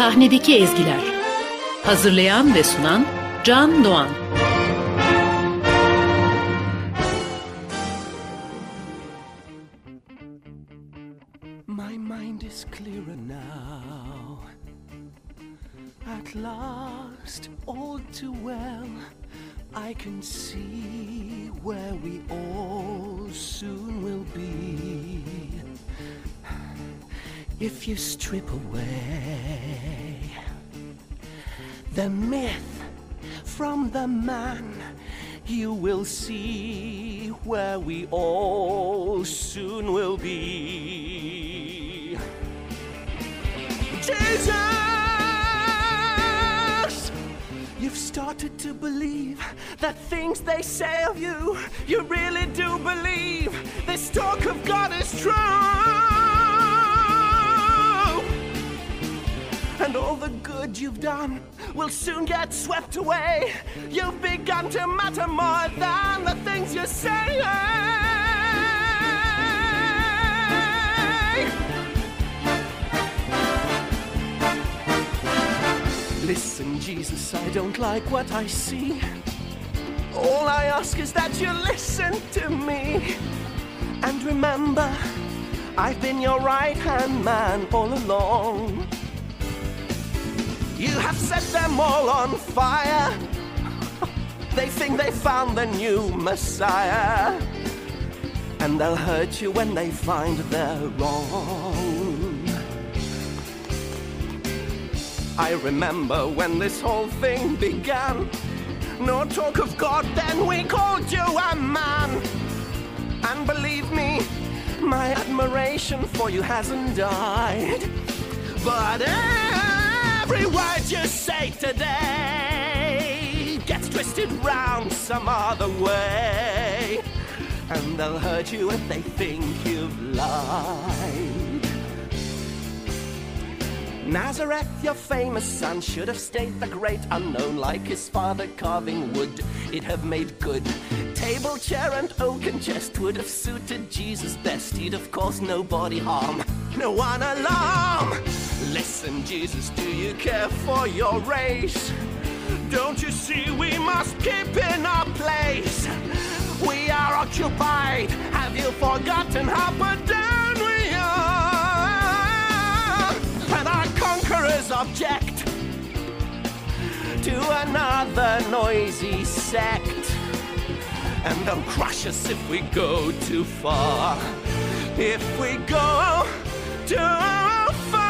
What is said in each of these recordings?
Sahnedeki ezgiler. Hazırlayan ve sunan Can Doğan. My mind is clearer now. At last, all too well, I can see where we all soon will be. If you strip away the myth from the man, you will see where we all soon will be. Jesus! You've started to believe that things they say of you, you really do believe. This talk of God is true. And all the good you've done will soon get swept away. You've begun to matter more than the things you say. Listen, Jesus, I don't like what I see. All I ask is that you listen to me. And remember, I've been your right-hand man all along. You have set them all on fire. They think they found the new Messiah. And they'll hurt you when they find they're wrong. I remember when this whole thing began. No talk of God, then we called you a man. And believe me, my admiration for you hasn't died. But every word you say today gets twisted round some other way. And they'll hurt you if they think you've lied. Nazareth, your famous son, should have stayed the great unknown. Like his father carving wood, it'd have made good. Table, chair and oaken chest would have suited Jesus best. He'd have caused nobody harm, no one alarm. Listen, Jesus, do you care for your race? Don't you see we must keep in our place? We are occupied, have you forgotten how put down we are? And our conquerors object to another noisy sect. And they'll crush us if we go too far. If we go too far.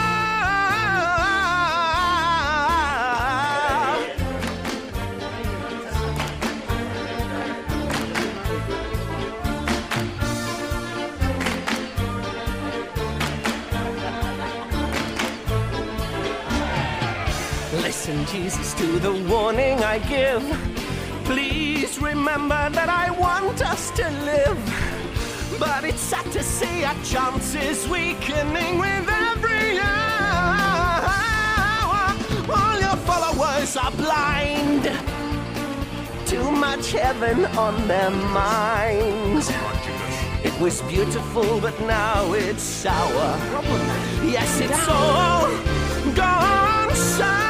Listen, Jesus, to the warning I give. Please remember that I want us to live. But it's sad to see our chances weakening with every hour. All your followers are blind. Too much heaven on their minds. It was beautiful, but now it's sour. Yes, it's all gone sour.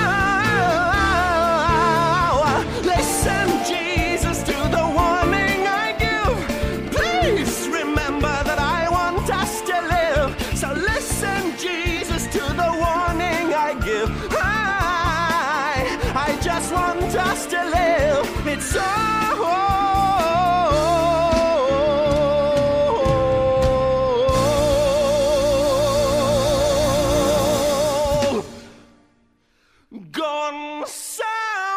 Listen, Jesus, to the warning I give. Please remember that I want us to live. So listen, Jesus, to the warning I give. I just want us to live. It's all gone sour.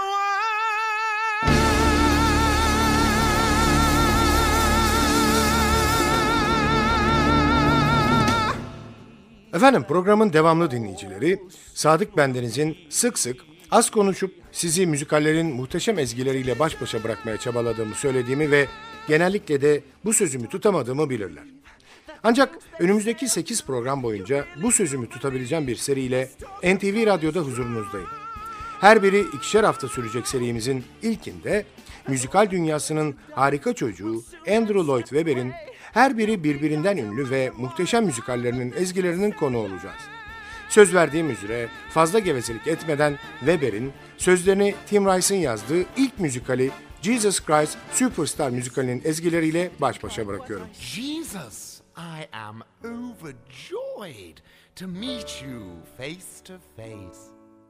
Efendim, programın devamlı dinleyicileri, Sadık Bendeniz'in sık sık az konuşup sizi müzikallerin muhteşem ezgileriyle baş başa bırakmaya çabaladığımı söylediğimi ve genellikle de bu sözümü tutamadığımı bilirler. Ancak önümüzdeki 8 program boyunca bu sözümü tutabileceğim bir seriyle NTV Radyo'da huzurunuzdayım. Her biri 2'şer hafta sürecek serimizin ilkinde müzikal dünyasının harika çocuğu Andrew Lloyd Webber'in her biri birbirinden ünlü ve muhteşem müzikallerinin ezgilerinin konu olacağız. Söz verdiğim üzere fazla gevezelik etmeden Weber'in sözlerini Tim Rice'ın yazdığı ilk müzikali Jesus Christ Superstar müzikalinin ezgileriyle baş başa bırakıyorum. Jesus, I am overjoyed to meet you face to face.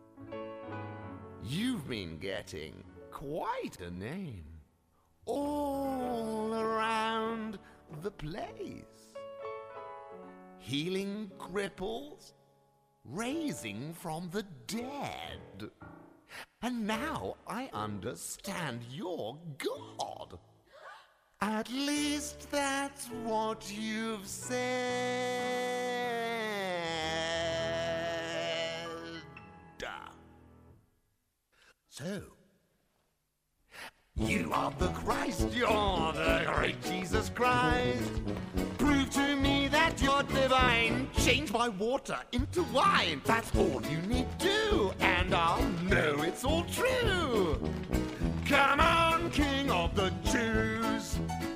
You've been getting quite a name all around the place. Healing cripples, raising from the dead. And now I understand you're God. At least that's what you've said. So, you are the Christ, you're the great Jesus Christ. Prove to me that you're divine. Change my water into wine. That's all you need to do, and I'll know it's all true. Come on, King of the Jews.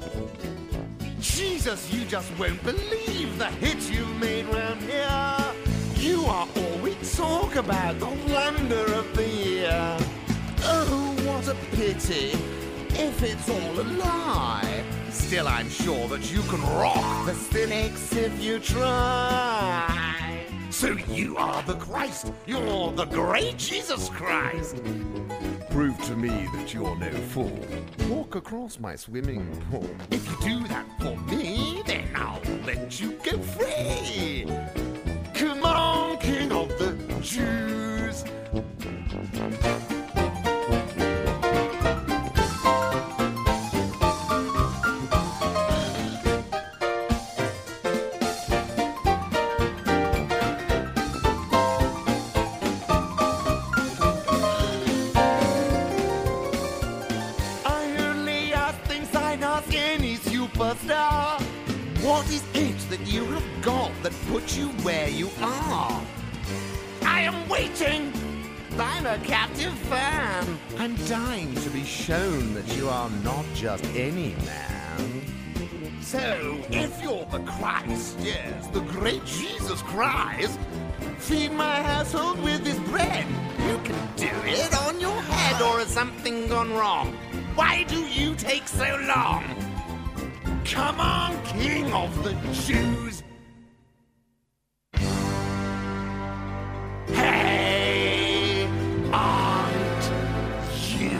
Jesus, you just won't believe the hit you've made round here. You are all we talk about, the wonder of the year. Oh, what a pity if it's all a lie. Still, I'm sure that you can rock the cynics if you try. So you are the Christ, you're the great Jesus Christ. Prove to me that you're no fool. Walk across my swimming pool. If you do that for me, then I'll let you go free. Come on, King of the Jews. What is it that you have got that puts you where you are? I am waiting. I'm a captive fan. I'm dying to be shown that you are not just any man. So, if you're the Christ, yes, the great Jesus Christ, feed my household with this bread. You can do it on your head, or has something gone wrong? Why do you take so long? Come on, King of the Jews. Hey, aren't you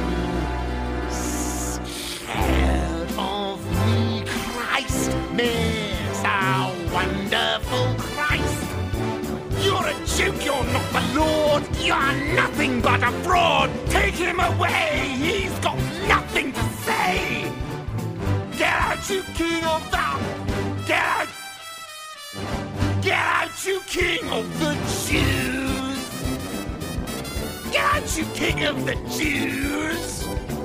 scared of me, Christ? Mr. Wonderful Christ. You're a joke, you're not the Lord. You're nothing but a fraud. Take him away, he's got nothing to say. Get out, you king of the... Get out! Get out, you king of the Jews! Get out, you king of the Jews!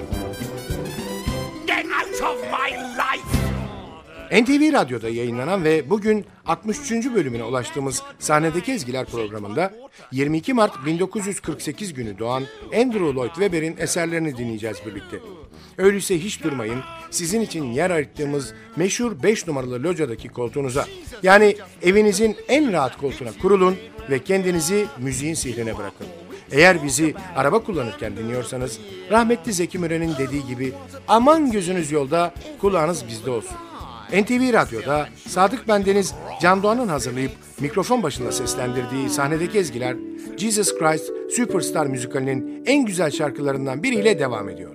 Get out of my life! NTV Radyo'da yayınlanan ve bugün 63. bölümüne ulaştığımız Sahnedeki Ezgiler programında 22 Mart 1948 günü doğan Andrew Lloyd Webber'in eserlerini dinleyeceğiz birlikte. Öyleyse hiç durmayın, sizin için yer ayırttığımız meşhur 5 numaralı locadaki koltuğunuza, yani evinizin en rahat koltuğuna kurulun ve kendinizi müziğin sihrine bırakın. Eğer bizi araba kullanırken dinliyorsanız, rahmetli Zeki Müren'in dediği gibi aman gözünüz yolda, kulağınız bizde olsun. NTV Radyo'da Sadık Bendeniz, Can Doğan'ın hazırlayıp mikrofon başında seslendirdiği Sahnedeki Ezgiler, Jesus Christ Superstar müzikalinin en güzel şarkılarından biriyle devam ediyor.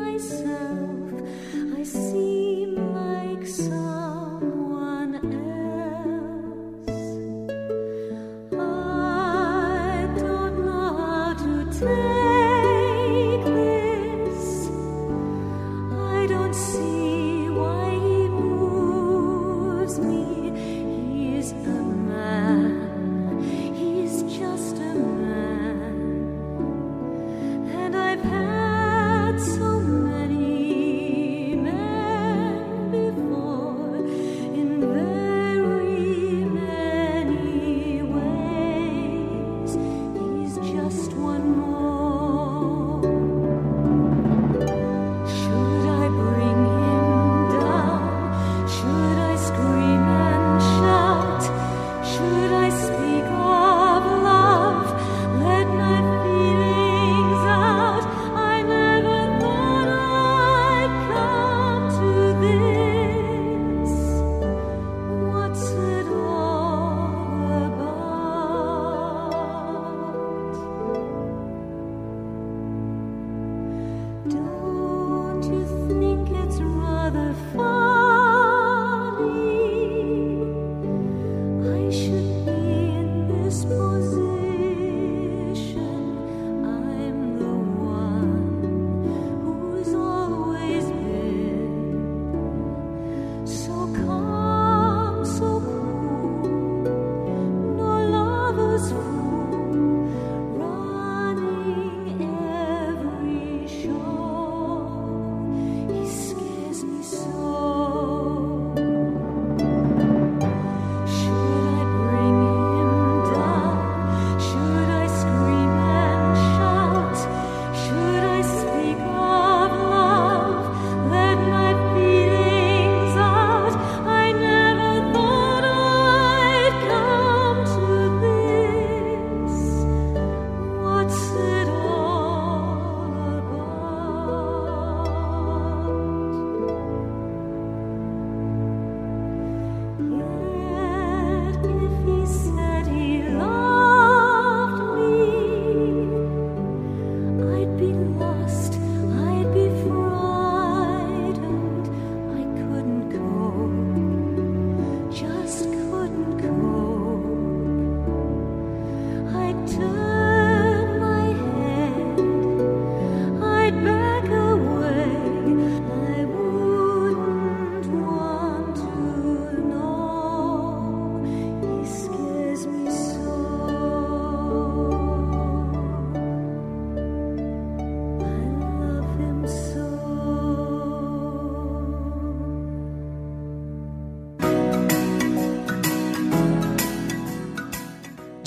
I seem like someone else.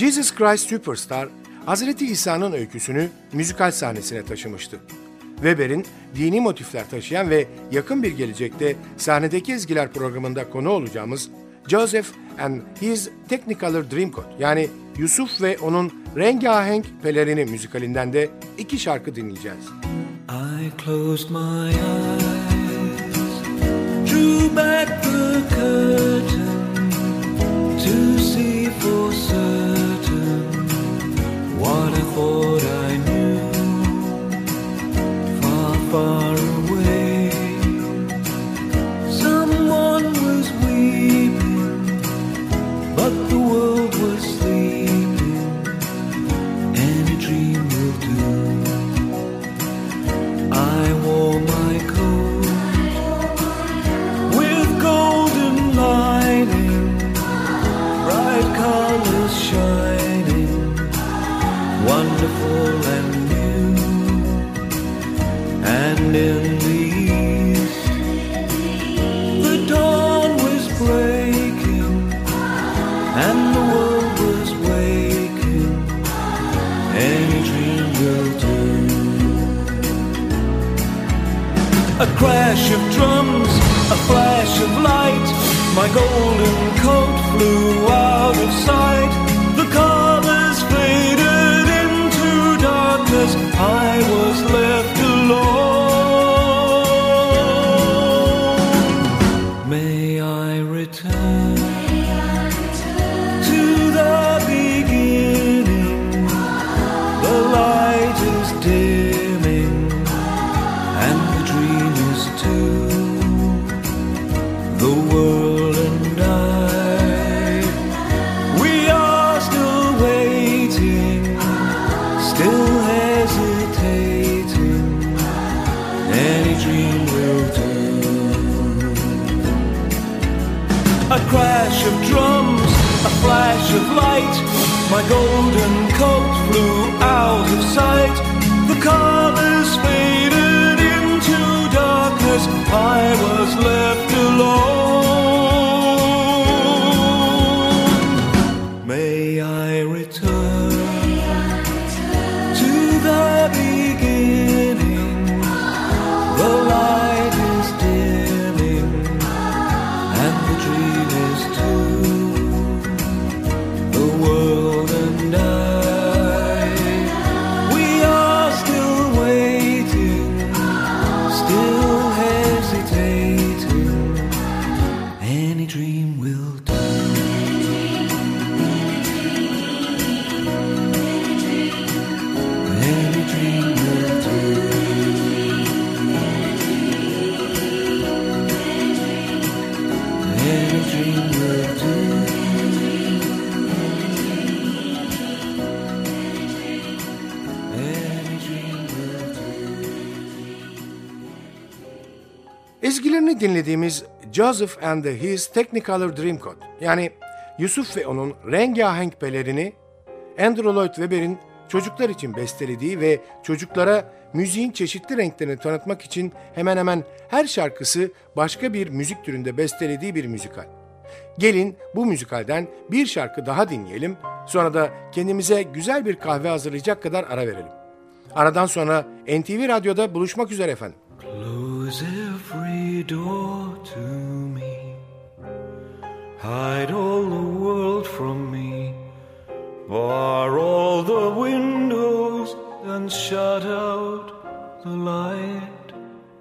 Jesus Christ Superstar, Hazreti İsa'nın öyküsünü müzikal sahnesine taşımıştı. Weber'in dini motifler taşıyan ve yakın bir gelecekte sahnedeki ezgiler programında konu olacağımız Joseph and His Technicolor Dreamcoat, yani Yusuf ve onun rengahenk pelerini müzikalinden de 2 şarkı dinleyeceğiz. I closed my eyes, drew back the curtain to see for certain what I thought I knew. Far, far away, someone was weeping, but the world was sleeping. Any dream will do. I wore my coat with golden lining, bright colors shining, wonderful and new. And in the east, the dawn was breaking, and the world was waking. Any dream will do. A crash of drums, a flash of light, my golden coat flew out of sight. The colors faded into darkness, I was left alone. May I return to the beginning, the light is dimming, and the dream is too. The world and I, we are still waiting, still hesitating. Any dream will do. A crash of drums, a flash of light, my golden coat flew out of sight. The colors faded into darkness, I was left alone. May I return to the beginning, the light is dimming, and the dream is too. The world and I, we are still waiting, still hesitating. Any dream will do. Any dream will do. Any dream will do. Any dream will do. Ezgilerini dinlediğimiz Joseph and His Technicolor Dreamcoat, yani Yusuf ve onun rengahenk pelerini, Andrew Lloyd Webber'in çocuklar için bestelediği ve çocuklara müziğin çeşitli renklerini tanıtmak için hemen hemen her şarkısı başka bir müzik türünde bestelediği bir müzikal. Gelin bu müzikalden bir şarkı daha dinleyelim, sonra da kendimize güzel bir kahve hazırlayacak kadar ara verelim. Aradan sonra NTV Radyo'da buluşmak üzere efendim. Close every door to me, hide all the world from me, bar all the windows and shut out the light.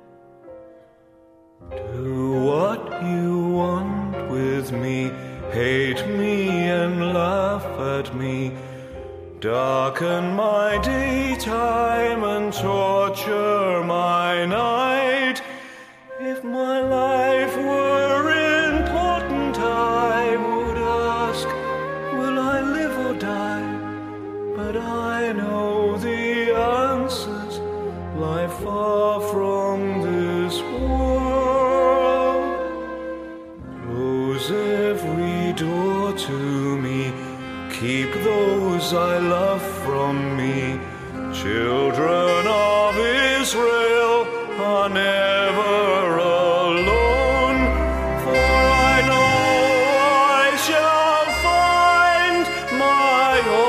Do what you want with me, hate me and laugh at me, darken my daytime and torture my night. If my life were important, I would ask, will I live or die? But I know the answers lie far from this world. Close every door to me, keep those I love from me. Children of Israel are never alone, for I know I shall find my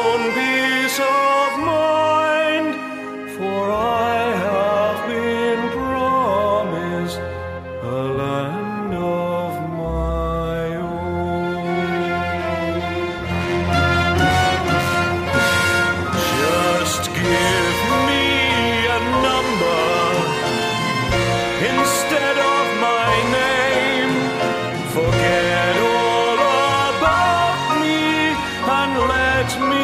let me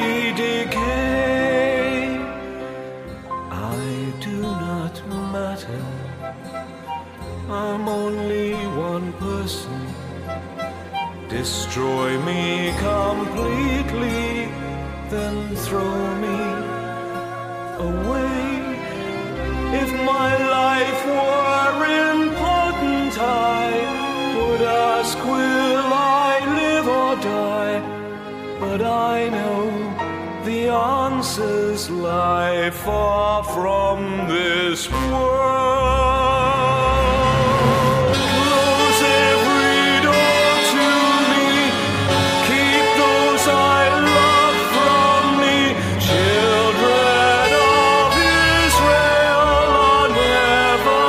decay. I do not matter. I'm only one person. Destroy me completely, then throw me away. If my life were important, I would ask, will I live or die? But I know the answers lie far from this world. Close every door to me, keep those I love from me. Children of Israel are never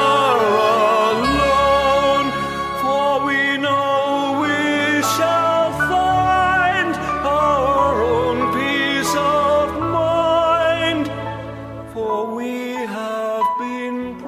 alone, for we know we shall find our own peace of mind, for we have been